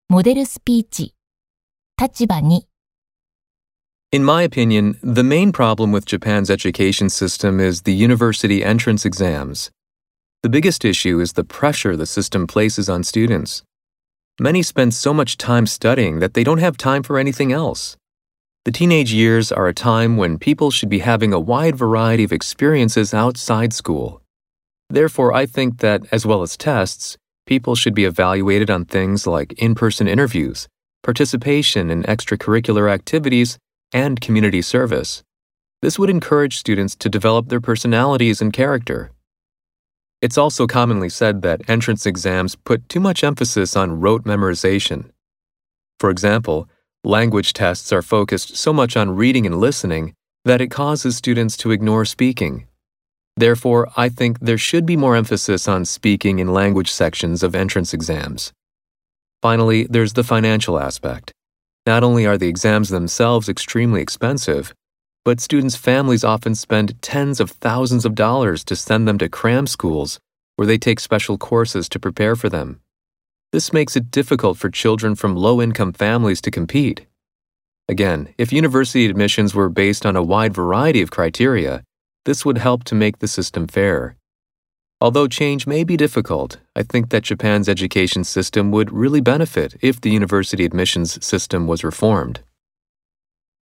モデルスピーチ。立場に。 In my opinion, the main problem with Japan's education system is the university entrance exams. The biggest issue is the pressure the system places on students. Many spend so much time studying that they don't have time for anything else. The teenage years are a time when people should be having a wide variety of experiences outside school. Therefore, I think that, as well as tests, people should be evaluated on things like in-person interviews, participation in extracurricular activities, and community service. This would encourage students to develop their personalities and character. It's also commonly said that entrance exams put too much emphasis on rote memorization. For example, language tests are focused so much on reading and listening that it causes students to ignore speaking. Therefore, I think there should be more emphasis on speaking in language sections of entrance exams. Finally, there's the financial aspect. Not only are the exams themselves extremely expensive, but students' families often spend tens of thousands of dollars to send them to cram schools where they take special courses to prepare for them. This makes it difficult for children from low-income families to compete. Again, if university admissions were based on a wide variety of criteria, this would help to make the system fair. Although change may be difficult, I think that Japan's education system would really benefit if the university admissions system was reformed.